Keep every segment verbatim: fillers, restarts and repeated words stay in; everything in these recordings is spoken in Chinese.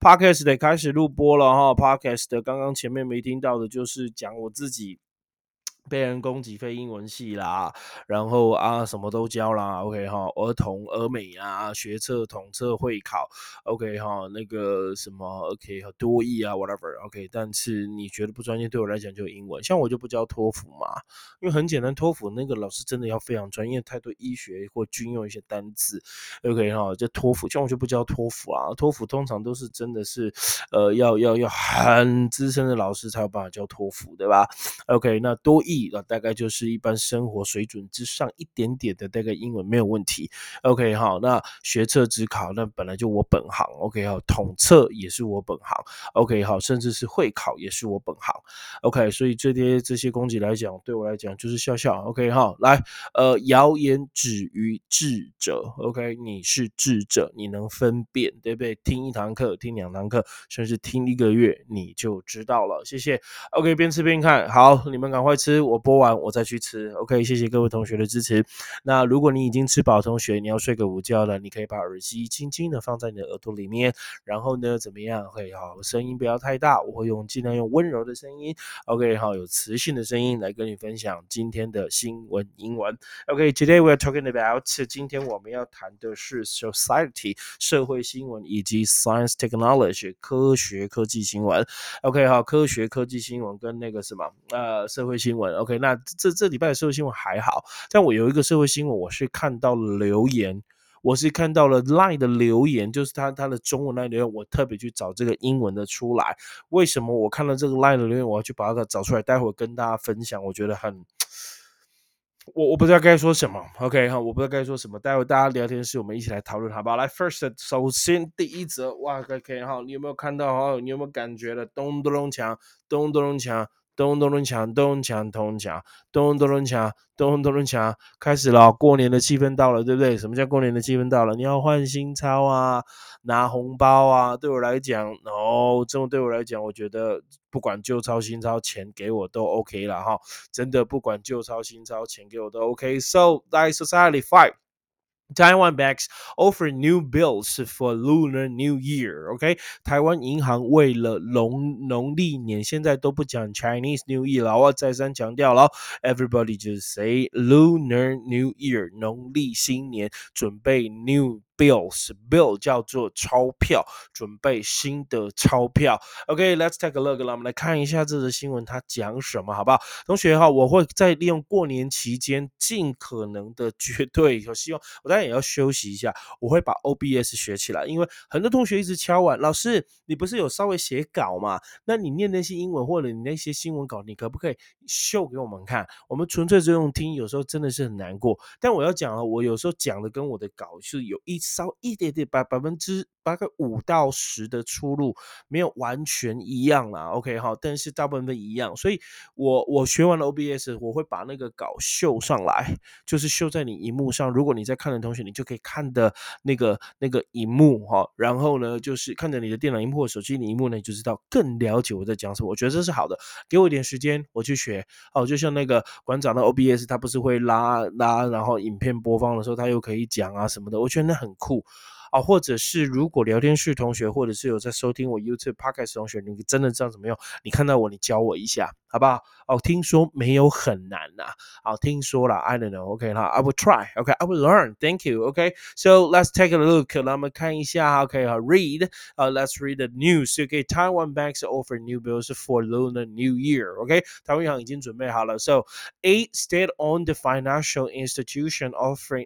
Podcast 得开始录播了哈。Podcast 刚刚前面没听到的就是讲我自己被人攻击非英文系啦，然后啊什么都教啦 ，OK 哈，儿童、儿美啊，学测、统测、会考 ，OK 哈，那个什么 OK 多益啊 ，whatever，OK，、okay, 但是你觉得不专业，对我来讲就英文，像我就不教托福嘛，因为很简单，托福那个老师真的要非常专业，太多医学或军用一些单字 ，OK 哈，就托福，像我就不教托福啊，托福通常都是真的是呃要要要很资深的老师才有办法教托福，对吧 ？OK， 那多益。大概就是一般生活水准之上一点点的大概英文没有问题 OK 好，那学测指考那本来就我本行 OK 好，统测也是我本行 OK 好，甚至是会考也是我本行 OK 所以这些这些攻击来讲对我来讲就是笑笑 OK 好，来呃谣言止于智者 OK 你是智者你能分辨对不对，听一堂课听两堂课甚至听一个月你就知道了，谢谢 OK 边吃边看，好你们赶快吃，我播完我再去吃 OK 谢谢各位同学的支持。那如果你已经吃饱同学你要睡个午觉了，你可以把耳机轻轻的放在你的耳朵里面，然后呢怎么样会好声音不要太大，我会用尽量用温柔的声音 OK 好有磁性的声音来跟你分享今天的新闻英文 OK today we are talking about 今天我们要谈的是 society 社会新闻以及 science technology 科学科技新闻 OK 好科学科技新闻跟那个什么呃社会新闻 OK 那这这礼拜的社会新闻还好，但我有一个社会新闻我是看到了留言，我是看到了 Line 的留言，就是他他的中文 Line 留言，我特别去找这个英文的出来。为什么我看到这个 Line 的留言，我要去把它找出来，待会跟大家分享，我觉得很。我我不知道该说什么 ，OK 哈，我不知道该说什么。待会大家聊天室我们一起来讨论，好不好？来 ，first， 首先第一则，哇 ，OK 哈，你有没有看到哈？你有没有感觉了？咚咚咚锵，咚咚咚锵，咚咚咚锵，咚锵咚锵，咚咚咚锵，咚咚咚锵，开始了，过年的气氛到了，对不对？什么叫过年的气氛到了？你要换新钞啊，拿红包啊。对我来讲，哦，这种对我来讲，我觉得不管旧钞新钞，钱给我都 OK 了哈。真的不管旧钞新钞，钱给我都 OK。So, like society fight. Taiwan banks offer new bills for Lunar New Year. OK， 台湾银行为了农农历年，现在都不讲 Chinese New Year 了，我再三强调了 ，Everybody just say Lunar New Year， 农历新年，准备 new bills bill 叫做钞票，准备新的钞票。OK，let's、okay, take a look， 我们来看一下这则新闻它讲什么，好不好？同学哈，我会在利用过年期间尽可能的绝对，我希望我当然也要休息一下，我会把 O B S 学起来，因为很多同学一直敲碗，老师你不是有稍微写稿吗？那你念那些英文或者你那些新闻稿，你可不可以秀给我们看？我们纯粹就用听，有时候真的是很难过。但我要讲了，我有时候讲的跟我的稿是有一稍一点点百百分之大概五到十的出入，没有完全一样啦。OK 哈，但是大部分一样，所以我我学完了 O B S， 我会把那个稿秀上来，就是秀在你荧幕上。如果你在看的同学，你就可以看的那个那个荧幕哈，然后呢，就是看着你的电脑荧幕或手机的荧幕呢，你就知道更了解我在讲什么。我觉得这是好的，给我一点时间，我去学。哦，就像那个馆长的 O B S， 他不是会拉拉，然后影片播放的时候，他又可以讲啊什么的，我觉得那很酷。啊，或者是如果聊天室同学，或者是有在收听我 YouTube Podcast 同学，你真的知道怎么用，你看到我，你教我一下，好不好？哦，听说没有很难呐、啊，好，听说了 ，I don't know，OK 哈、okay, ，I will try，OK，I、okay, will learn，Thank you，OK，So、okay? let's take a look， 让我们看一下 ，OK 哈、uh,，read， uh, let's read the news，OK，Taiwan、okay, banks offer new bills for Lunar New Year，OK，、okay? 台湾银行已经准备好了 ，So a state-owned financial institution offering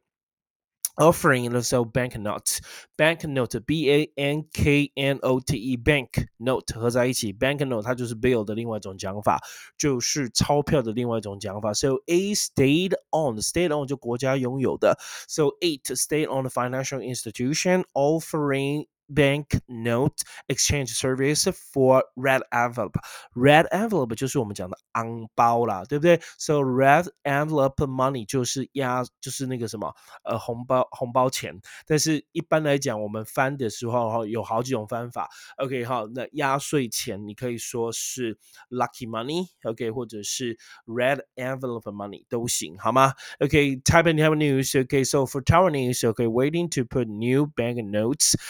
offering so banknotes banknote B A N K N O T E banknote 合在一起 banknote 它就是 bill 的另外一种讲法，就是钞票的另外一种讲法。So a state owned state owned 就国家拥有的 So eight state owned financial institution offering banknote exchange service for red envelope red envelope 就是我们讲的昂包啦，对不对？ So red envelope money 就是压就是那个什么呃红包红包钱，但是一般来讲我们翻的时候有好几种翻法 OK 好，那压岁钱你可以说是 lucky money OK 或者是 red envelope money 都行好吗 OK Taiwan News OK so for Taiwan News OK waiting to put new banknotes in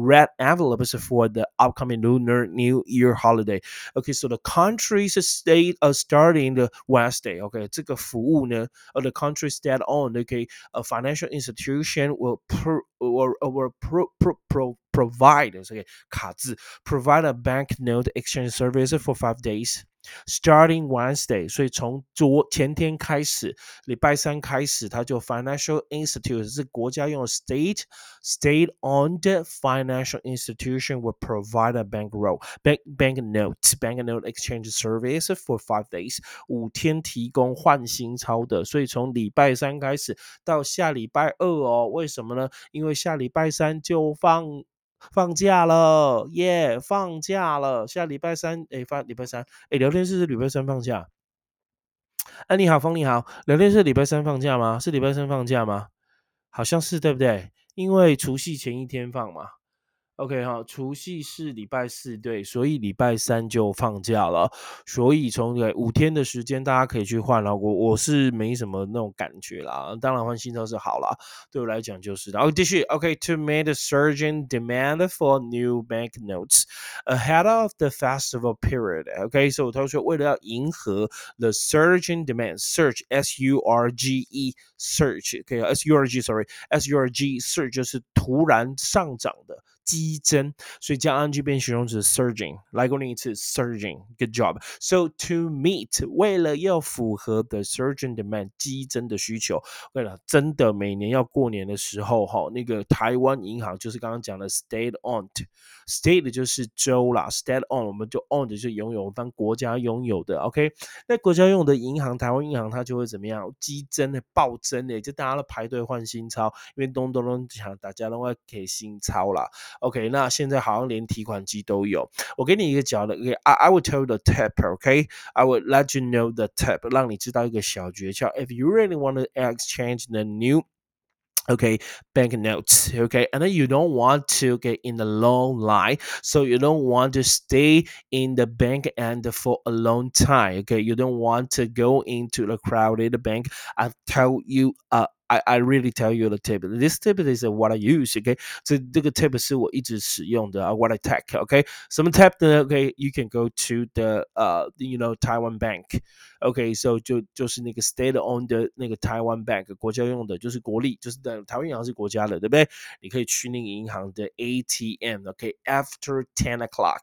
red envelopes for the upcoming Lunar New Year holiday. Okay, so the countries state uh, starting the Wednesday. Okay, 这个服务呢，呃，the countries that own okay a financial institution will pro or or pro pro pro provide okay 卡字 provide a banknote exchange service for five days. Starting Wednesday，所以从昨前天开始，礼拜三开始，它就 financial institute 是国家用的 state state owned financial institution will provide a bankroll bank banknote banknote exchange service for five days，五天提供换新钞的，所以从礼拜三开始到下礼拜二哦，为什么呢？因为下礼拜三就放。放假了，耶、yeah 放假了。下礼拜三，诶，发礼拜三，诶，聊天室是礼拜三放假。哎、啊，你好，风你好，聊天室礼拜三放假吗？是礼拜三放假吗？好像是对不对？因为除夕前一天放嘛。OK 哈，除夕是礼拜四，对，所以礼拜三就放假了，所以从呃五天的时间，大家可以去换了。我我是没什么那种感觉啦，当然换新钞是好啦，对我来讲就是的。哦，继续 OK to meet the surging demand for new banknotes ahead of the festival period. OK，所以他说为了要迎合 the surging demand, surge S U R G E surge OK S U R G sorry S U R G surge 就是突然上涨的。激增，所以加 ing 变形容词 surging。来过另一次 surging，good job。So to meet， 为了要符合 the surging demand 激增的需求，为了真的每年要过年的时候，哈，那个台湾银行就是刚刚讲的 state owned，state 就是州啦 ，state owned 我们就 owned 就是拥有，当国家拥有的 ，OK。那国家拥有的银行，台湾银行它就会怎么样？激增的暴增的，就大家都排队换新钞，因为咚咚咚讲大家都会给新钞啦。OK， 那现在好像连提款机都有。我给你一个角的 ，OK，I I will tell you the tip，OK，I will let you know the tip， 让你知道一个小诀窍。If you really want to exchange the new okay banknotes okay and then you don't want to get in the long line so you don't want to stay in the bank and for a long time okay you don't want to go into the crowded bank I tell you uh I, I really tell you the tip. This tip is what I use. Okay， 这这个 tip 是我一直使用的。Uh, what I take. Okay， 什么 tip 呢 ？Okay，you can go to the uh you know Taiwan Bank. OK，so、okay, 就就是那个 state owned 的那个台湾 bank 国家用的，就是国力，就是的台湾银行是国家的，对不对？你可以去那个银行的 A T M，OK，after、okay? ten o'clock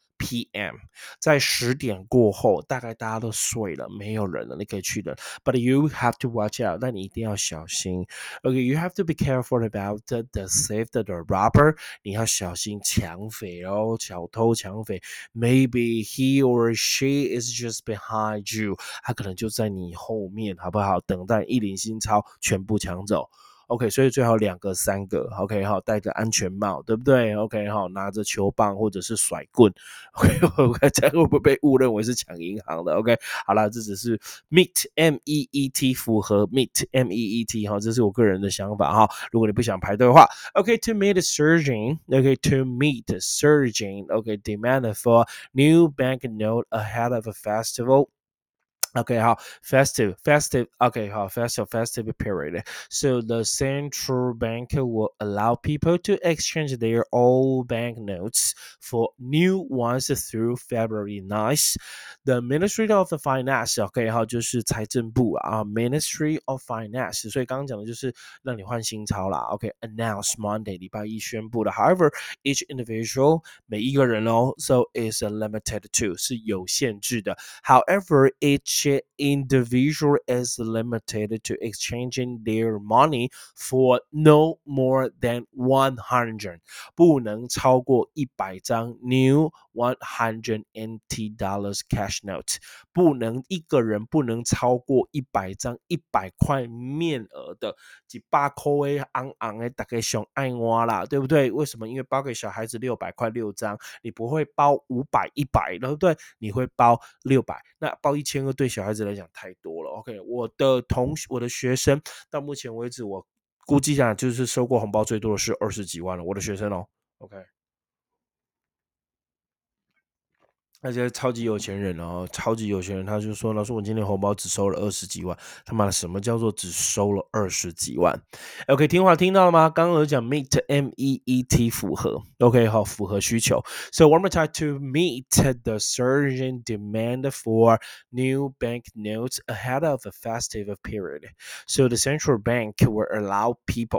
P M， 在十点过后，大概大家都睡了，没有人了，你可以去的。But you have to watch out， 但你一定要小心。OK，you、okay, have to be careful about the, the theft, the robber， 你要小心抢匪哦，小偷抢匪。Maybe he or she is just behind you， 他可能就在你后面，好不好？等待一领新钞，全部抢走。OK，所以最好两个、三个 ，OK 哈，戴着安全帽，对不对 ？OK 哈，拿着球棒或者是甩棍，OK， 这样会不会被误认为是抢银行的 ？OK， 好了，这只是 meet M E E T 符合 meet M E E T 哈，这是我个人的想法哈。如果你不想排队的话 ，OK，to、okay, meet surging，OK，to、okay, meet surging，OK，demand、okay, for new banknote ahead of a festival。OK， 好 festive festive OK 好 festive festive period. So the central bank will allow people to exchange their old banknotes for new ones through February ninth. The Ministry of Finance OK 好就是财政部啊 Ministry of Finance. 所以刚刚讲的就是让你换新钞啦 OK announce Monday 礼拜一宣布的 However each individual 每一个人哦 So is limited to 是有限制的 However each individual is limited to exchanging their money for no more than one hundred 不能超过一百张 new one hundred N T dollars cash note 不能一个人不能超过一百张一百块面额的一百块的昂昂的大概上爱挖啦对不对为什么因为包给小孩子六百块六张你不会包五百一百对不对你会包六百那包一千二对小孩子来讲太多了 OK 我的同我的学生到目前为止我估计讲就是收过红包最多的是二十几万了我的学生哦 OK 那些超级有钱人哦，超级有钱人，他就说：“老师，我今天红包只收了二十几万。”他妈的，什么叫做只收了二十几万？OK，听话听到了吗？刚刚有讲 meet M E E T 符合，OK 好，符合需求。So one more time to meet the surging demand for new bank notes ahead of the festive period. So the central bank will allow people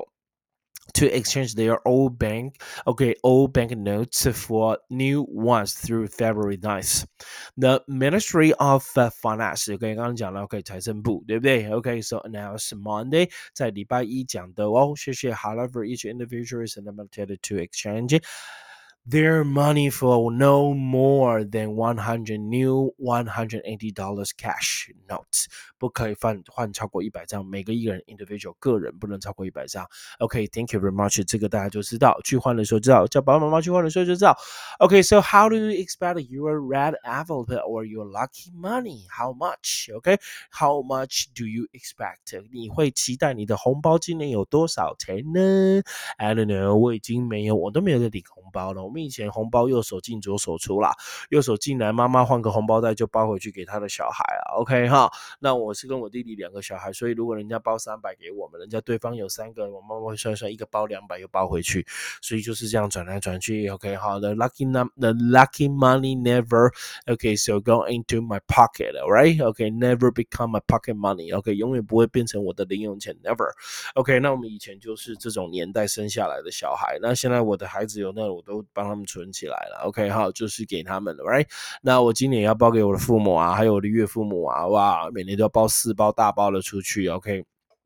to exchange their old bank okay old bank notes for new ones through February ninth. The Ministry of uh, Finance OK 刚刚讲了 OK 财政部对不对 OK so announced Monday 在礼拜一讲的哦谢谢 however each individual is limited to exchange their money for no more than one hundred new one hundred eighty dollars cash notes 不可以换换超过一百张每个一个人 individual 个人不能超过一百张 OK thank you very much 这个大家就知道去换的时候知道叫爸爸妈妈去换的时候就知道 OK so how do you expect your red envelope or your lucky money how much OK how much do you expect 你会期待你的红包今年有多少钱呢 I don't know 我已经没有我都没有在领红包了我们以前红包右手进左手出啦右手进来妈妈换个红包袋就包回去给他的小孩了 OK 哈那我是跟我弟弟两个小孩所以如果人家包三百给我们人家对方有三个我妈妈会算算一个包两百又包回去所以就是这样转来转去 OK 好 the lucky, the lucky money never OK so go into my pocket alright OK never become my pocket money OK 永远不会变成我的零用钱 never OK 那我们以前就是这种年代生下来的小孩那现在我的孩子有那我都帮他们存起来了 OK 好就是给他们了 right 那我今年也要包给我的父母啊还有我的岳父母啊哇每年都要包四包大包的出去 OK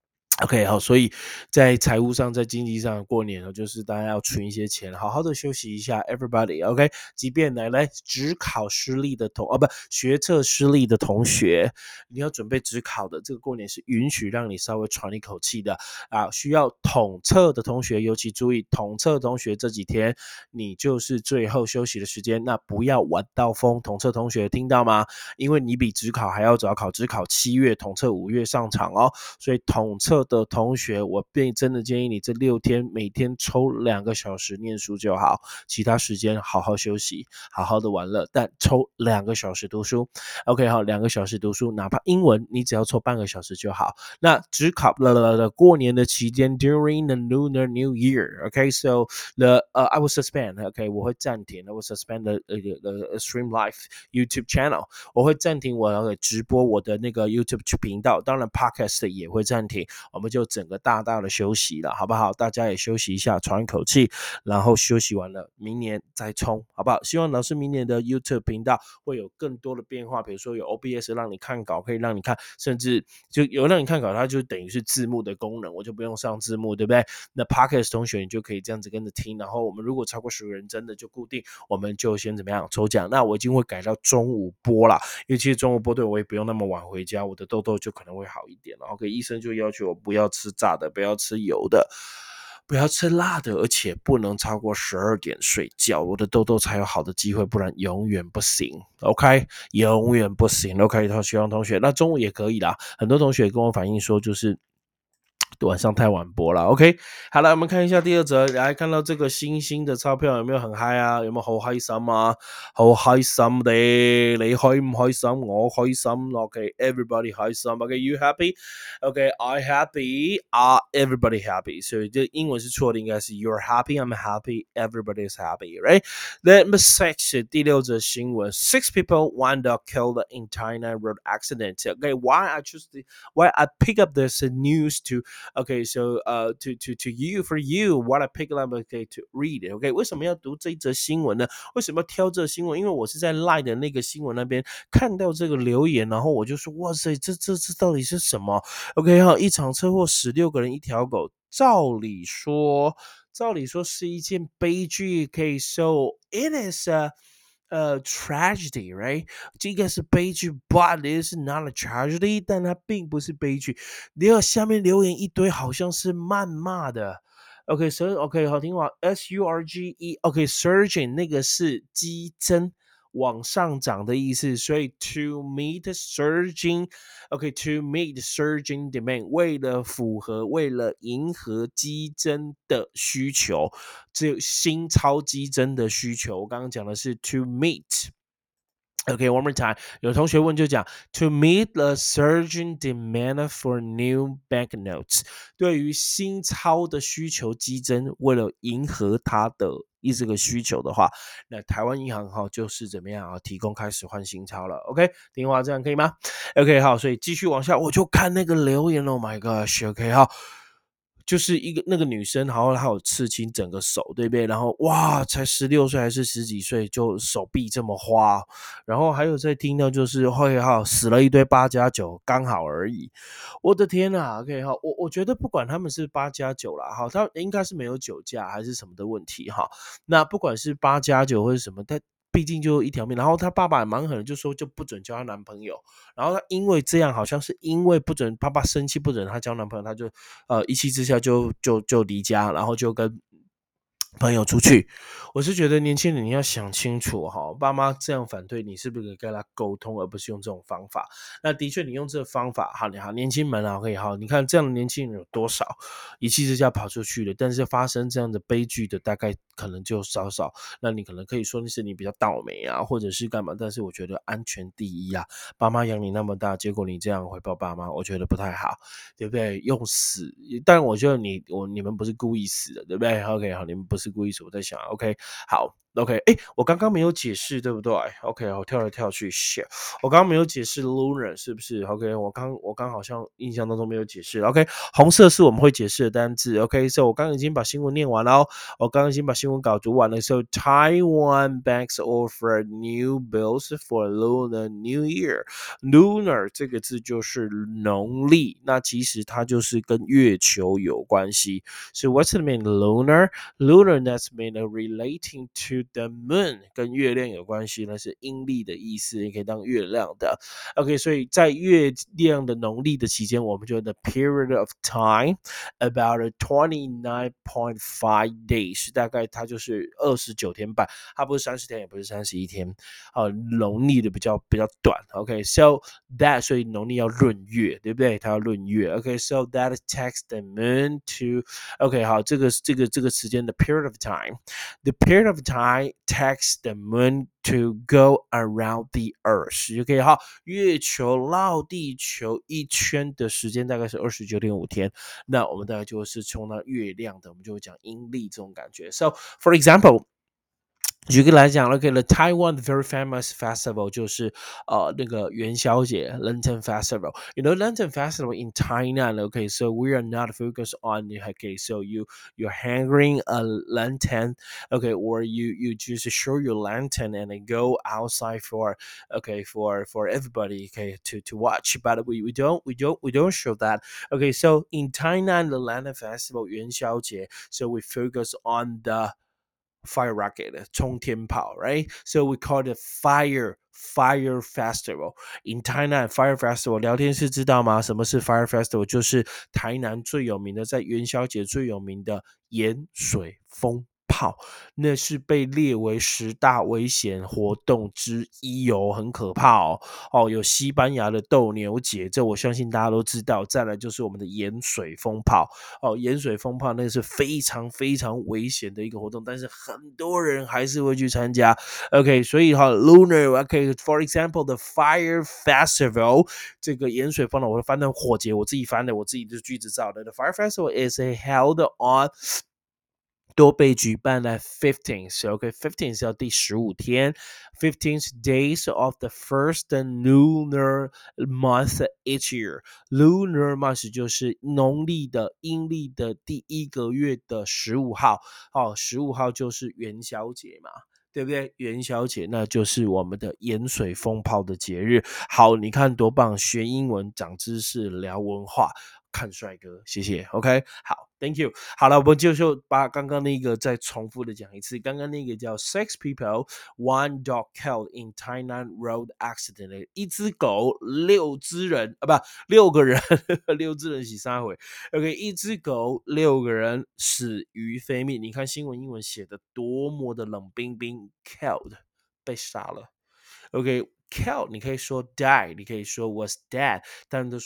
OK 好所以在财务上在经济上过年呢就是大家要存一些钱好好的休息一下 everybody OK 即便来来指考失利的同哦不学测失利的同学你要准备指考的这个过年是允许让你稍微喘一口气的啊需要统测的同学尤其注意统测同学这几天你就是最后休息的时间那不要玩到疯统测同学听到吗因为你比指考还要早考指考七月统测五月上场哦所以统测的同学我便真的建议你这六天每天抽两个小时念书就好其他时间好好休息好好的玩乐但抽两个小时读书 OK 好两个小时读书哪怕英文你只要抽半个小时就好那只考了过年的期间 during the Lunar New Year OK so the、uh, I will suspend OK 我会暂停 I will suspend the, the, the Stream Live YouTube channel 我会暂停我的直播我的那个 YouTube 频道当然 Podcast 也会暂停我们就整个大大的休息了好不好大家也休息一下喘一口气然后休息完了明年再冲好不好希望老师明年的 YouTube 频道会有更多的变化比如说有 O B S 让你看稿可以让你看甚至就有让你看稿它就等于是字幕的功能我就不用上字幕对不对那 Podcast 同学你就可以这样子跟着听然后我们如果超过十个人真的就固定我们就先怎么样抽奖那我已经会改到中午播啦因为其实中午播对我也不用那么晚回家我的痘痘就可能会好一点了 OK 医生就要求我不要吃炸的不要吃油的不要吃辣的而且不能超过十二点睡觉我的痘痘才有好的机会不然永远不行 OK 永远不行 OK 希望同学那中午也可以啦很多同学跟我反映说就是晚上太晚播了 OK 好了我们看一下第二则来看到这个星星的钞票有没有很嗨啊有没有好開心啊好開心的你開唔開心我開心 OK everybody 開心 OK you happy OK I happy uh, everybody happy 所以这英文是错的应该是 you're happy I'm happy everybody is happy right Number six 第六则新闻 six people wound up killed in China road accident Okay why I choose the, why I pick up this news to Okay, so uh, to to to you for you, what I pick up okay to read. Okay, 为什么要读这一则新闻呢？为什么要挑这新闻？因为我是在 Line 的那个新闻那边看到这个留言，然后我就说，哇塞，这这这到底是什么 ？OK 哈，一场车祸死六个人，一条狗。照理说，照理说是一件悲剧。Okay, so it is a呃 tragedy, right? 这个是悲剧 but it is not a tragedy 但它并不是悲剧然后下面留言一堆好像是谩骂的 OK 所以 OK 好听话 S U R G E OK surging 那个是激增往上涨的意思所以 to meet surging OK to meet surging demand 为了符合为了迎合激增的需求只有新超激增的需求我刚刚讲的是 to meet Okay, one more time. 有同学问就讲，to meet the surging demand for new banknotes，对于新钞的需求激增，为了迎合它的一这个需求的话，那台湾银行哈就是怎么样啊，提供开始换新钞了。OK，听话这样可以吗？OK，好，所以继续往下，我就看那个留言，Oh my gosh，OK，、好。就是一个那个女生，然后她有刺青整个手，对不对？然后哇，才十六岁还是十几岁，就手臂这么花。然后还有在听到就是会哈死了一堆八加九，刚好而已。我的天呐 OK 哈，我我觉得不管他们是八加九啦，哈，他应该是没有酒驾还是什么的问题哈。那不管是八加九或是什么，但毕竟就一条命。然后他爸爸也蛮狠的，就说就不准交她男朋友。然后他因为这样，好像是因为不准爸爸生气，不准她交男朋友，他就呃一气之下就就就离家，然后就跟朋友出去。我是觉得年轻人你要想清楚哈，爸妈这样反对你，是不是可以跟他沟通，而不是用这种方法？那的确，你用这个方法，好，你好，年轻们啊，可以好，你看这样的年轻人有多少，一气之下跑出去了，但是发生这样的悲剧的，大概可能就少少。那你可能可以说那是你比较倒霉啊，或者是干嘛？但是我觉得安全第一啊，爸妈养你那么大，结果你这样回报爸妈，我觉得不太好，对不对？用死，但我觉得你我你们不是故意死的，对不对？OK，好，你们不是故意死，我在想，OK，好。OK，哎，我刚刚没有解释，对不对？OK，我跳来跳去，shit，我刚刚没有解释 lunar 是不是？OK，我刚我刚好像印象当中没有解释。OK，红色是我们会解释的单字。OK，所以我刚刚已经把新闻念完了哦，我刚刚已经把新闻稿读完了。So Taiwan banks offer new bills for Lunar New Year。Lunar 这个字就是农历，那其实它就是跟月球有关系。So what's the mean lunar? Lunar that's mean relating to the moon， 跟月亮有关系，那是阴历的意思，也可以当月亮的。OK，所以在月亮的农历的期间，我们就 the period of time about twenty nine point five days， 大概它就是二十九天半，它不是三十天，也不是三十一天，呃，农历的比较比较短。OK，so、okay, that 所以农历要闰月，对不对？它要闰月。OK，so、okay, that takes the moon to OK， 好，这个这个这个时间的 period of time，the period of time takes the moon to go around the earth， 就可以哈，月球绕地球一圈的时间大概是二十九点五天，那我们大概就是从那月亮的，我们就会讲阴历这种感觉。So for example。举个来讲 ，OK，the、okay, Taiwan very famous festival 就是呃那个元宵节 Lantern Festival。You know Lantern Festival in Tainan. Okay, so we are not focused on okay, so you you're hanging a lantern, okay, or you you just show your lantern and then go outside for okay for for everybody okay to to watch. But we we don't we don't we don't show that. Okay, so in Tainan the Lantern Festival 元宵节 so we focus on the fire rocket 冲天炮 right? So we call it fire fire festival. In Thailand, fire festival 聊天室知道吗？什么是 fire festival？就是台南最有名的，在元宵节最有名的盐水风炮，那是被列为十大危险活动之一哦，很可怕哦。哦，有西班牙的斗牛节，这我相信大家都知道。再来就是我们的盐水风炮，哦，盐水风炮那是非常非常危险的一个活动，但是很多人还是会去参加。OK，所以哈，lunar，OK，for example the fire festival，这个盐水风呢，我翻成火节，我自己翻的，我自己的句子造的。The fire festival is held on 都被举办在 fifteenth，OK，fifteenth 是要第十五天，fifteenth days of the first lunar month each year。lunar month 就是农历的阴历的第一个月的十五号，哦，十五号就是元宵节嘛。对不对？元宵节那就是我们的盐水风炮的节日。好，你看多棒，学英文、长知识、聊文化。看帅哥，谢谢。OK， 好 ，Thank you。好了，我们就就把刚刚那个再重复的讲一次。刚刚那个叫 Six people, one dog killed in Tainan road accident。一只狗，六只人啊，不，六个人，六只人洗三回。OK， 一只狗，六个人死于非命。你看新闻英文写的多么的冷冰冰 ，killed 被杀了。OK，kill 你可以说 die，你可以说 was dead，但都说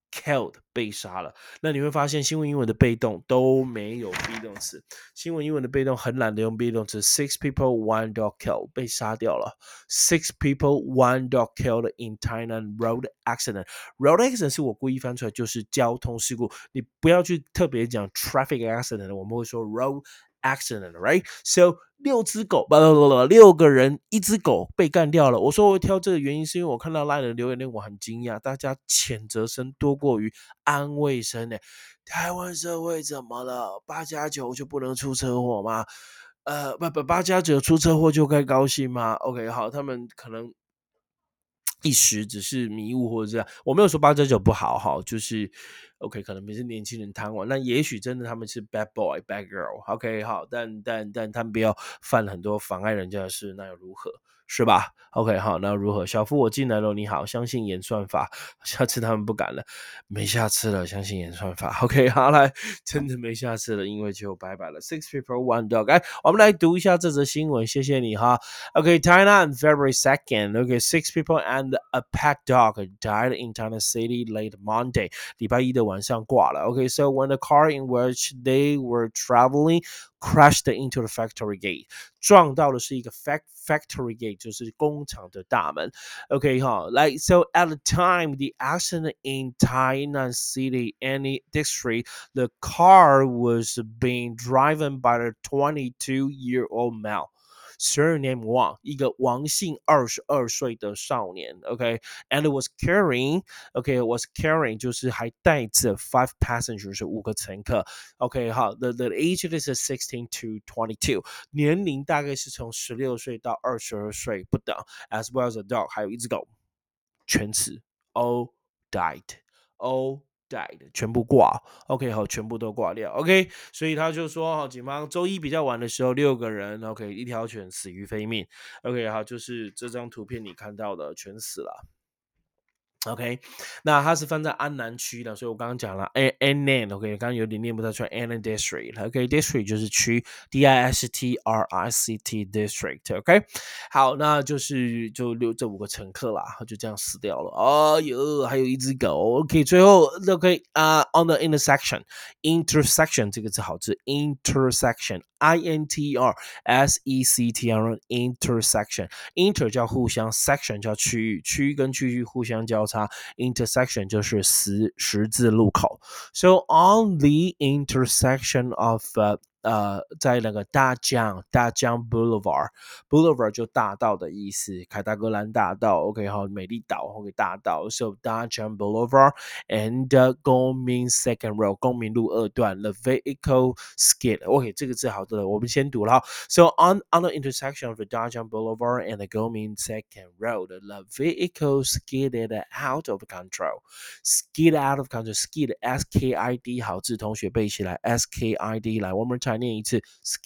killed 被杀了。那你会发现新闻英文的被动都没有 be 动词，新闻英文的被动很懒得用 be 动词。Six people, one dog killed 被杀掉了。Six people, one dog killed in Thailand road accident. Road accident 是我故意翻出来，就是交通事故。你不要去特别讲 traffic accident， 我们会说 road accident, right? So 六只狗，不不不不，六个人，一只狗被干掉了。我说我会挑这个原因，是因为我看到 LINE 的留言令我很惊讶，大家谴责声多过于安慰声呢。台湾社会怎么了？八加九就不能出车祸吗？呃，不不，八加九出车祸就该高兴吗 ？OK， 好，他们可能一时只是迷雾或者这样，我没有说八加九不好哈，就是 OK， 可能也是年轻人贪玩，那也许真的他们是 bad boy bad girl，OK， 好，但但但他们不要犯很多妨碍人家的事，那又如何？是吧 ？OK， 好，那如何？小夫，我进来了，你好，相信演算法，下次他们不敢了，没下次了，相信演算法。OK， 好，来，真的没下次了，因为就拜拜了。Six people, one dog。哎，我们来读一下这则新闻，谢谢你哈。Okay, Thailand, February second. Okay, six people and a pet dog died in Thailand City late Monday. 礼拜一的晚上挂了。Okay, so when the car in which they were traveling crashed into the factory gate， 撞到的是一个 factory gate， 就是工厂的大门。Okay, 哈 like so at the time the accident in Thailand City any district, the car was being driven by a twenty-two-year-old male. Surname Wang， 一个王姓二十二岁的少年 ，OK，and、okay? was carrying，OK，was、okay, carrying 就是还带着 five passengers 是五个乘客 ，OK， 好 ，the the age is sixteen to twenty-two， 年龄大概是从十六岁到二十二岁不等 ，as well as a dog， 还有一只狗，全词 all died，all died 全部挂 ，OK 好，全部都挂掉 ，OK， 所以他就说，警方周一比较晚的时候，六个人 ，OK， 一条犬死于非命 ，OK 好，就是这张图片你看到的全死了。OK， 那它是放在安南区的，所以我刚刚讲了 Annan，OK， 刚刚有点念不太出来 Annan District，OK，District、okay? 就是区 D I S T R I C T District，OK，、okay? 好，那就是就六这五个乘客啦，就这样死掉了。哦哟，还有一只狗 ，OK， 最后 OK 啊、uh, ，on the intersection intersection 这个字好字 intersection I N T R S E C T R intersection inter 叫互相 section 叫区域，区域跟区域互相交叉。Intersection 就是十十字路口 ，so on the intersection of、uh, 呃，在那个大江大江 Boulevard Boulevard 就大道的意思，凯达格兰大道 ，OK 好，美丽岛 OK 大道 ，so 大江 Boulevard and、uh, 公民 Second Road 公民路二段 the vehicle skid，OK、okay, 这个字好的，我们先读了 ，so on on the intersection of the Dajang Boulevard and the Gomin Second Road, the vehicle skidded out of control. Skid out of control, skid S K I D 好字，同学背起来 S K I D 来 ，one more time 念一次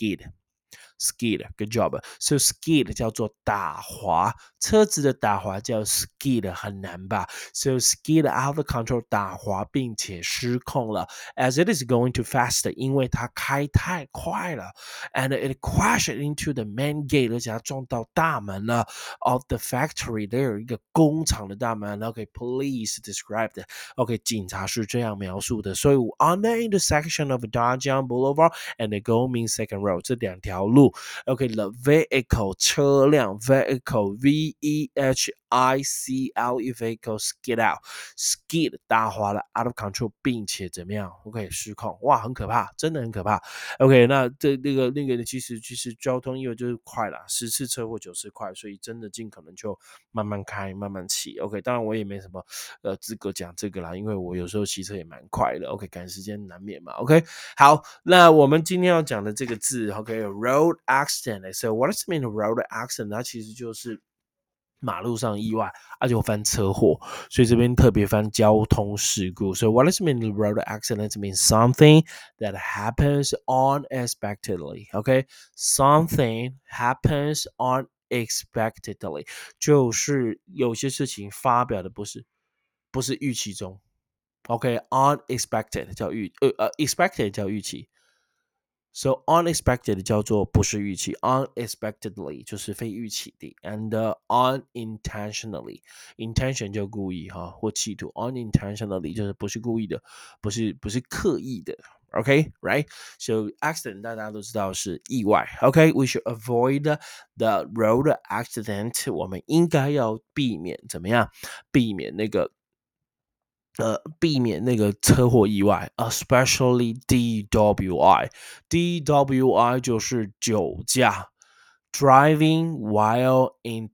skid。skid, good job. So skid 叫做打滑，车子的打滑叫 skid， 很难吧 ？So skid out of control 打滑并且失控了 ，as it is going too fast， 因为它开太快了 ，and it crashed into the main gate， 而且它撞到大门了 of the factory， there 有一个工厂的大门。OK，police、okay, described。OK， 警察是这样描述的。所以 on the intersection of Dajang Boulevard and the Gomin Second Road 这两条路。OK，the、okay, vehicle 车辆 vehicle V E H I C L E vehicle skid out skid 打滑了 out of control， 并且怎么样 ？OK 失控，哇，很可怕，真的很可怕。OK， 那这那个那个其实其实交通意外就是快啦，十次车祸九次快，所以真的尽可能就慢慢开，慢慢骑。OK， 当然我也没什么呃资格讲这个啦，因为我有时候骑车也蛮快的。OK， 赶时间难免嘛。OK， 好，那我们今天要讲的这个字 ，OK，road、okay, accident。So what does it mean road accident？ 它其实就是马路上意外，啊就翻车祸，所以这边特别翻交通事故。So what does it mean road accident? It means something that happens unexpectedly. Okay, something happens unexpectedly， 就是有些事情发表的不是不是预期中。OK，unexpected、okay, 叫预呃呃 expected 叫预期。 So unexpected 叫做不是预期 ，unexpectedly 就是非预期的 ，and、uh, unintentionally intention 就故意哈或企图 ，unintentionally 就是不是故意的，不是不是刻意的。OK, right? So accident 大家都知道是意外。OK, we should avoid the road accident. 我们应该要避免怎么样？避免那个呃，避免那个车祸意外，especially D W I。D W I 就是酒驾，driving while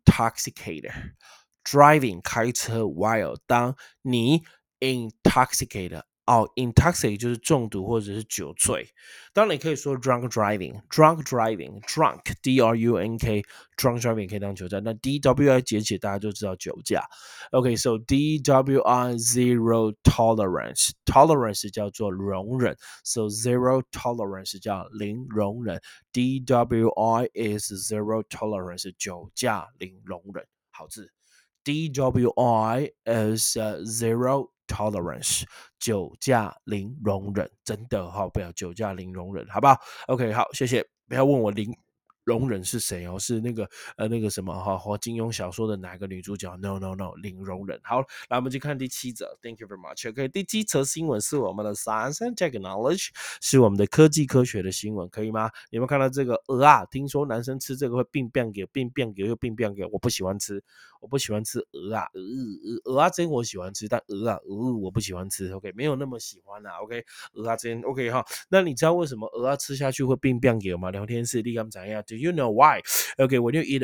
intoxicated。driving 开车 while 当你 intoxicated 哦，intoxicated 就是中毒或者是酒醉。当然你可以说 drunk driving，drunk driving，drunk D R U N K drunk driving 可以当酒驾，那 D W I 简写大家就知道酒驾。OK，so、okay, D W I zero tolerance，tolerance 叫做容忍 ，so zero tolerance 叫零容忍 ，D W I is zero tolerance 酒驾零容忍，好字。D W I is、uh, zero tolerance 酒驾零容忍，真的哈、哦，不要酒驾零容忍，好不好 ？OK， 好，谢谢，不要问我零。容忍是谁哦？是那个呃那个什么哈，和金庸小说的哪个女主角 ？No No No，零容忍。好，来我们去看第七则。Thank you very much. OK，第七则新闻是我们的 Science and Technology，是我们的科技科学的新闻，可以吗？有没有看到这个鹅啊？听说男生吃这个会病变给病变给又病变给，我不喜欢吃，我不喜欢吃鹅啊，鹅鹅鹅啊真我喜欢吃，但鹅啊鹅我不喜欢吃。OK，没有那么喜欢啊。OK，鹅啊真 OK 哈。那你知道为什么鹅啊吃下去会病变给吗？聊天室立竿怎样 ？Do you know why? Okay, when you eat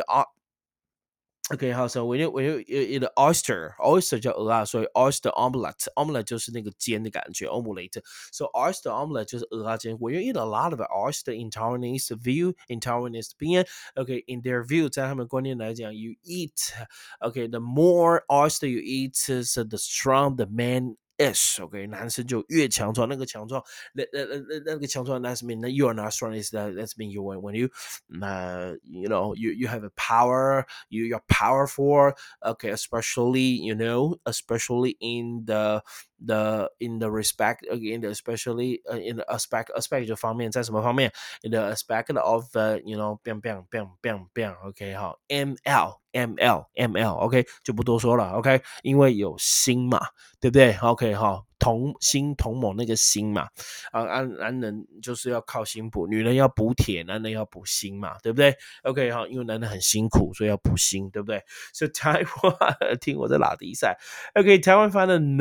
OK， 好，so when you when you eat oyster oyster 叫鹅啊，所以 oyster omelette omelette 就是那个煎的感觉 omelette。So oyster omelette 就是鹅啊煎。When you eat a lot of oyster in Taiwanese view in Taiwanese 边 OK in their view 在他们观念来讲 you eat OK the more oyster you eat so the strong the man is OK 男生就越强壮，那个强壮那那那那那个强壮 that's mean that you are not strong is that that's mean you when when you uh, you know you you have a power you you're powerful okay especially you know especially in the the in the respect in the especially uh, in the aspect aspect 这方面在什么方面 in the aspect of uh, you know bang bang bang bang bang OK 好 M L M L M L OK 就不多说了 OK 因为有心嘛对不对 OK 好同心同盟那个心嘛啊男男人就是要靠心补女人要补铁男人要补心嘛对不对 OK 好因为男人很辛苦所以要补心对不对 So 台湾听我在拉迪赛 OK 台湾发现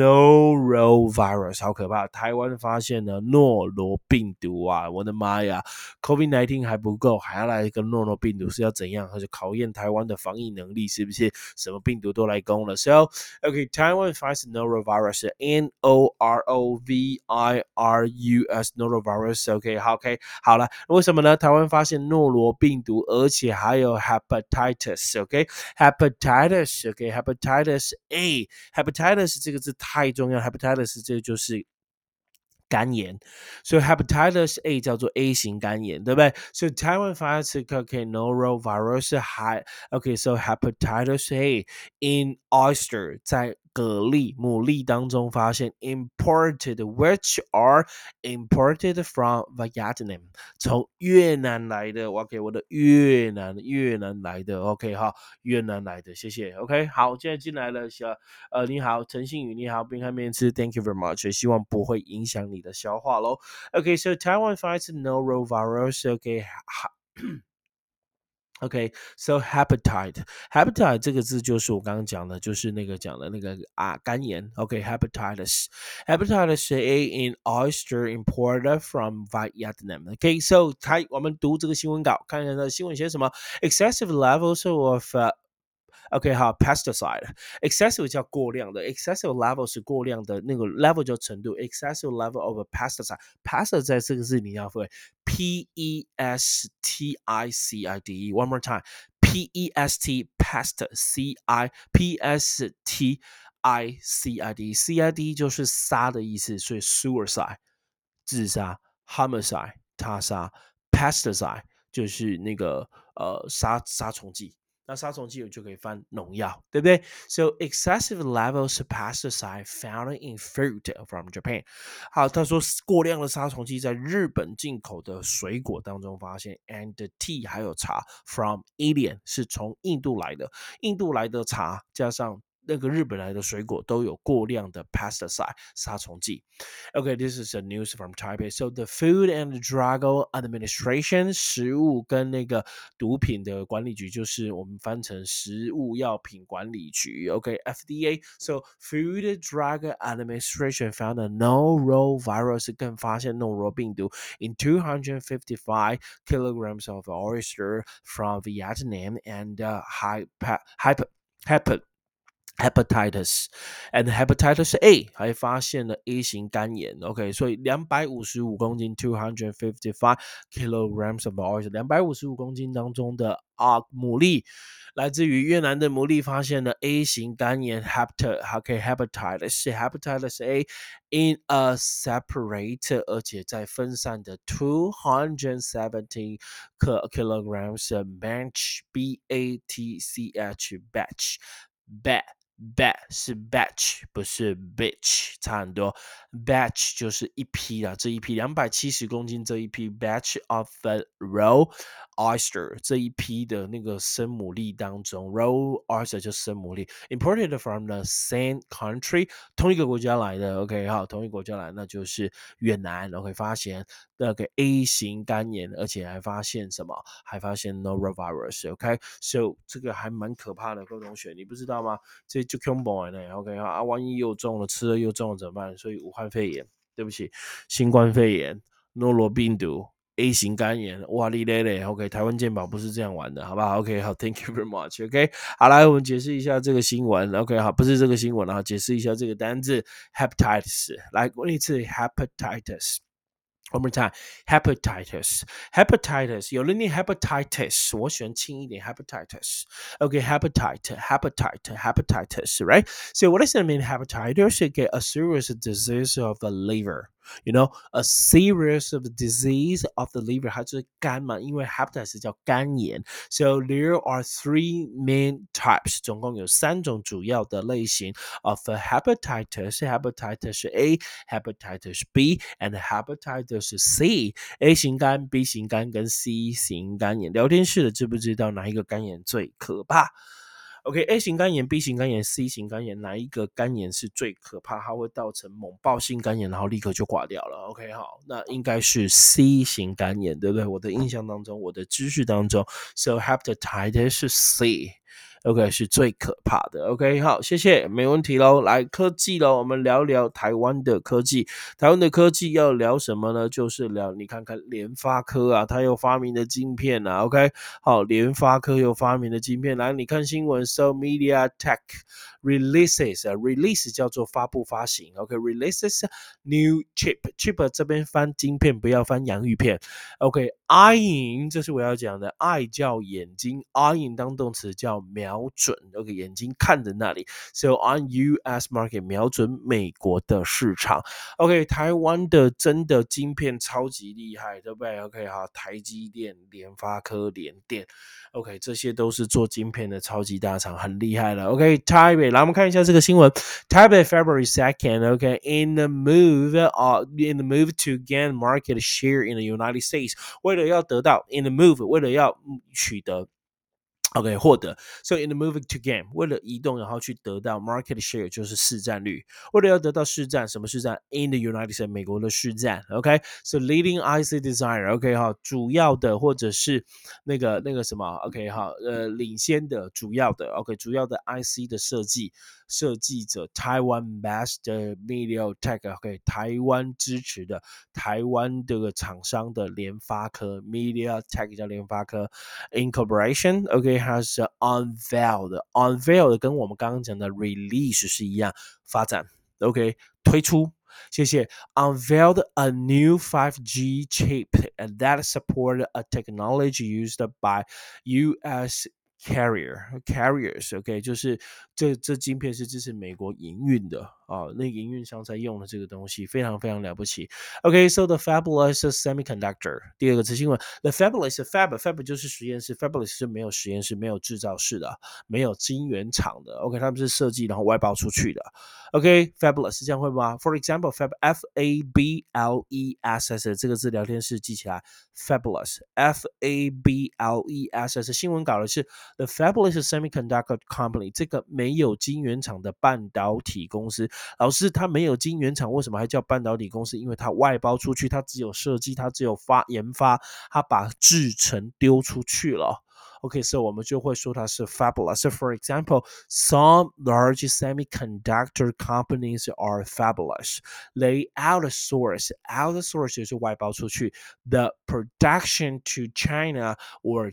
norovirus 好可怕台湾发现了诺罗病毒啊我的妈呀 COVID 十九 还不够还要来一个诺罗病毒是要怎样就考验台湾的防疫能力是不是什么病毒都来攻了 So OK 台湾发现 norovirus N O R O V I R U S norovirus OK 好 OK 好了为什么呢台湾发现诺罗病毒而且还有 hepatitis OK hepatitis OK hepatitis A hepatitis 这个字太重要 hepatitis 这个就是肝炎，所以 hepatitis A 叫做 A 型肝炎，对不对？所以台湾发现这个 OK norovirus 还 OK so hepatitis A in oyster 在蛤蜊牡蛎当中发现 imported which are imported from Vietnam 从越南来的 OK 我的越南越南来的 OK 好越南来的谢谢 OK 好现在进来了小呃你好陈信宇你好冰汉面吃 Thank you very much 希望不会影响你的消化咯 OK so Taiwan finds norovirus OK OK, so hepatite, hepatite 这个字就是我刚刚讲的，就是那个讲的那个啊肝炎。OK, hepatitis, hepatitis A in oyster imported from Vietnam. OK, so 台我们读这个新闻稿，看看它的新闻写什么。Excessive levels of、uh, OK 好 pesticide excessive 叫过量的 excessive level 是过量的那个 level 叫程度 excessive level of a pesticide pesticide 这个字你要会 P E S T I C I D E one more time P E S T pest C I P S T I C I D C I D 就是杀的意思所以 suicide 自杀 homicide 他杀 pesticide 就是那个呃杀杀虫剂那杀虫剂我就可以翻农药，对不对 ？So excessive levels of pesticide found in fruit from Japan。好，他说过量的杀虫剂在日本进口的水果当中发现 ，and tea 还有茶 from Indian 是从印度来的，印度来的茶加上那个日本来的水果都有过量的 pesticide 杀虫剂。Okay, this is a news from Taipei. So the Food and Drug Administration 食物跟那个毒品的管理局，就是我们翻成食物药品管理局。Okay, F D A. So Food and Drug Administration found a norovirus 更发现诺罗病毒 in two hundred fifty-five kilograms of oyster from Vietnam and uh, hyper, hyper, hyper hepatitis and hepatitis A 还发现了 A 型肝炎 OK 所以两百五十五公斤 two hundred fifty-five kilograms of oil 两百五十五公斤当中的啊牡蛎来自于越南的牡蛎发现了 A 型肝炎 hepat OK hepatitis hepatitis A in a separate 而且在分散的two hundred seventy kilograms batch B A T C H batch bat bat 是 batch 不是 bitch 差很多 batch 就是一批啦这一批两百七十公斤这一批 batch of the raw oyster 这一批的那个生牡蛎当中 raw oyster 就是生牡蛎 imported from the same country 同一个国家来的 OK 好同一个国家来那就是越南 OK 发现那个 A 型肝炎而且还发现什么还发现 norovirus OK so 这个还蛮可怕的各位同学你不知道吗这就恐怖呢 OK 啊万一又中了吃了又中了怎么办所以武汉肺炎对不起新冠肺炎诺罗病毒 A 型肝炎哇哩嘞嘞 OK 台湾健保不是这样玩的好不好 OK 好 Thank you very much OK 好来我们解释一下这个新闻 OK 好不是这个新闻啊解释一下这个单字 hepatitis 来过一次 hepatitis One more time, hepatitis. Hepatitis. 有人念 hepatitis， 我喜欢轻一点 hepatitis. Okay, hepatitis, hepatitis, hepatitis, right? So what does that mean, hepatitis? Okay, a serious disease of the liver. You know, a serious of disease of the liver. 它就是肝嘛，因为 hepatitis 叫肝炎。So there are three main types. 总共有三种主要的类型 of hepatitis. Hepatitis A, hepatitis B, and hepatitis C. A 型肝 B 型肝跟 C 型肝炎聊天室的知不知道哪一个肝炎最可怕 OK，A 型肝炎、B 型肝炎、C 型肝炎，哪一个肝炎是最可怕？它会造成猛爆性肝炎，然后立刻就挂掉了。OK， 好，那应该是 C 型肝炎，对不对？我的印象当中，我的知识当中 ，So hepatitis 是 C。OK 是最可怕的 OK 好谢谢没问题咯来科技咯我们聊聊台湾的科技台湾的科技要聊什么呢就是聊你看看联发科啊它又发明了晶片啊 OK 好联发科又发明了晶片来你看新闻 So MediaTek releases release 叫做发布发行 OK releases new chip chip 这边翻晶片不要翻洋芋片 OK eyeing 这是我要讲的 eye 叫眼睛 eyeing 当动词叫瞄瞄准 OK 眼睛看着那里 So on U S market 瞄准美国的市场 OK 台湾的真的晶片超级厉害对不对 OK 好台积电联发科联电 OK 这些都是做晶片的超级大厂很厉害了 OK 台北来我们看一下这个新闻台北 February second OK in the move uh, in the move to gain market share in the United States 为了要得到 in the move 为了要取得OK 获得 So in the moving to gain 为了移动然后去得到 market share 就是市占率为了要得到市占什么市占 in the United States 美国的市占 OK So leading I C designer OK 哈主要的或者是那个那个什么 OK 哈呃领先的主要的 OK 主要的 I C 的设计设计者 Taiwan based MediaTek OK 台湾支持的台湾这个厂商的联发科 MediaTek 叫联发科 Incorporation OK has unveiled unveiled 跟我们刚刚讲的 release 是一样发展 OK 推出谢谢 unveiled a new five G chip and that supported a technology used by U S carrier carriers OK 就是这这晶片是支持美国营运的啊，那营运商在用的这个东西非常非常了不起。OK so the fabulous semiconductor 第二个词新闻 the fabulous fab fab 就是实验室 fabulous 是没有实验室没有制造室的没有晶圆厂的 OK 他们是设计然后外包出去的 OK fabulous 是这样会吗 For example fab F A B L E S S 这个字聊天室记起来 fabulous F A B L E S S 新闻稿的是 The fabulous semiconductor company 这个没有晶圆厂的半导体公司老师它没有晶圆厂为什么还叫半导体公司因为它外包出去它只有设计它只有发研发它把制程丢出去了OK, so 我们就会说它是 fabulous. So for example, some large semiconductor companies are fabulous. They outsource, outsource 就是外包出去 the production to China or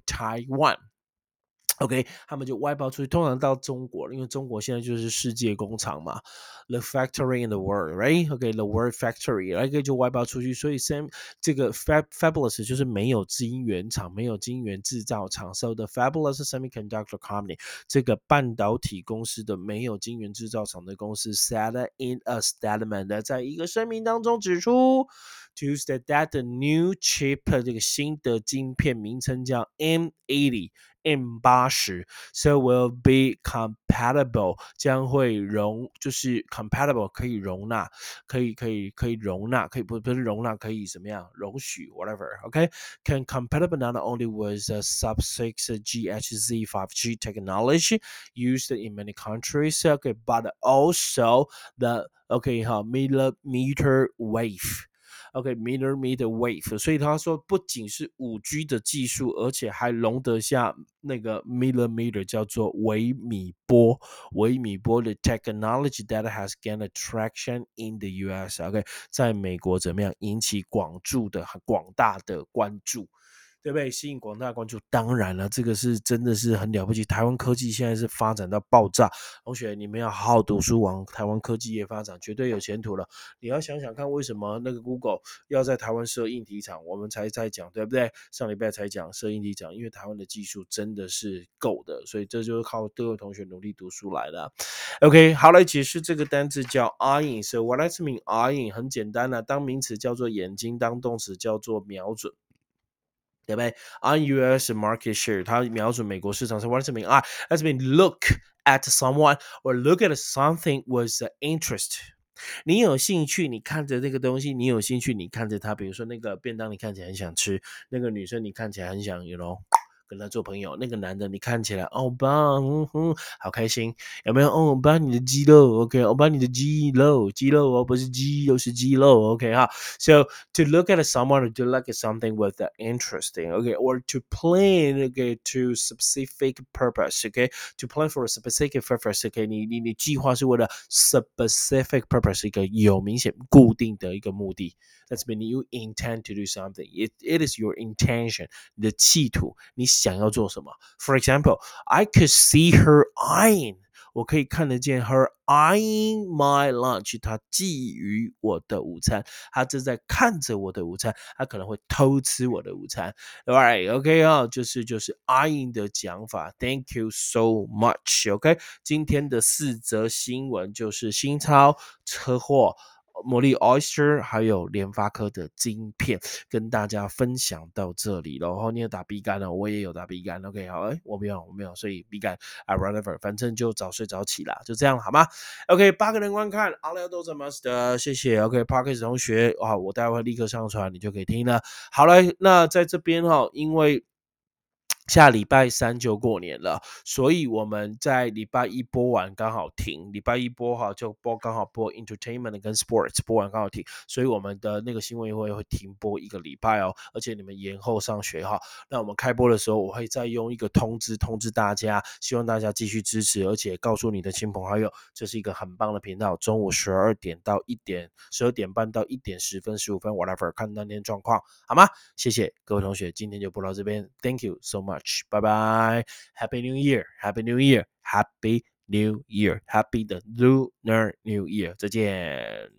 Taiwan.OK， 他们就外包出去，通常到中国，因为中国现在就是世界工厂嘛 ，the factory in the world, right? OK，the world factory， 然后就外包出去，所以 Sam 这个 fab fabulous 就是没有晶圆厂，没有晶圆制造厂 ，so the fabulous semiconductor company 这个半导体公司的没有晶圆制造厂的公司 said in a statement， 在一个声明当中指出 ，to state that the new chip 这个新的晶片名称叫 M 八十。M 八十 so will be compatible 将会容就是 compatible 可以容纳可以可以可以容纳可以不不是容纳可以怎么样容许 whatever OK can compatible not only with the sub six G H Z five G technology used in many countries okay but also the okay 哈 millimeter wave OK millimeter wave 所以他说不仅是 五 G 的技术而且还容得下那个 millimeter 叫做微米波微米波的 technology that has gained attraction in the U S OK 在美国怎么样引起广注的广大的关注对不对？吸引广大的关注，当然了，这个是真的是很了不起。台湾科技现在是发展到爆炸，同学你们要好好读书，往台湾科技业发展，绝对有前途了。你要想想看，为什么那个 Google 要在台湾设硬体厂，我们才在讲，对不对？上礼拜才讲设硬体厂，因为台湾的技术真的是够的，所以这就是靠各位同学努力读书来的。OK， 好，来解释这个单字叫 eyeing。So what does mean eyeing？ 很简单啊，当名词叫做眼睛，当动词叫做瞄准。对不对 ？On U S market share， 它瞄准美国市场。So what does it mean? Ah, that mean look at someone or look at something with interest。你有兴趣，你看着这个东西，你有兴趣，你看着它。比如说那个便当，你看起来很想吃；那个女生，你看起来很想，you know。跟他做朋友，那个男的你看起来欧巴，嗯哼，好开心，有没有？哦，欧巴你的肌肉 ，OK， 欧巴你的肌肉，肌肉哦，不是肌肉是肌肉 ，OK 哈。So to look at someone or to look at something with the interesting, okay, or to plan, okay, to specific purpose, okay, to plan for a specific purpose, okay， 你你你计划是为了 specific purpose 一个有明显固定的一个目的。That's mean you intend to do something. It it is your intention. 你的企图，你想要做什么 ？For example, I could see her eyeing. 我可以看得见 her eyeing my lunch. 她觊觎我的午餐，她正在看着我的午餐，她可能会偷吃我的午餐。Alright, OK 啊，就是就是 eyeing 的讲法。Thank you so much. OK， 今天的四则新闻就是新超车祸。魔力 Oyster 还有联发科的晶片跟大家分享到这里了。然后你有打 B 肝了，我也有打 B 肝 OK 好，哎，我没有我没有，所以 B 肝 I whatever 反正就早睡早起啦，就这样好吗 OK 八个人观看 All I do is must 谢谢 OK Parkers 同学啊，我待会立刻上传你就可以听了。好了，那在这边哈，因为下礼拜三就过年了，所以我们在礼拜一播完刚好停，礼拜一播好就播刚好播 entertainment 跟 sports 播完刚好停，所以我们的那个新闻会会停播一个礼拜哦，而且你们延后上学哈。那我们开播的时候，我会再用一个通知通知大家，希望大家继续支持，而且告诉你的亲朋好友，这是一个很棒的频道，中午十二点到一点，十二点半到一点十分、十五分 ，whatever， 看当天状况，好吗？谢谢各位同学，今天就播到这边 ，Thank you so much。Bye bye. Happy New Year. Happy New Year. Happy New Year. Happy the Lunar New Year. 再见。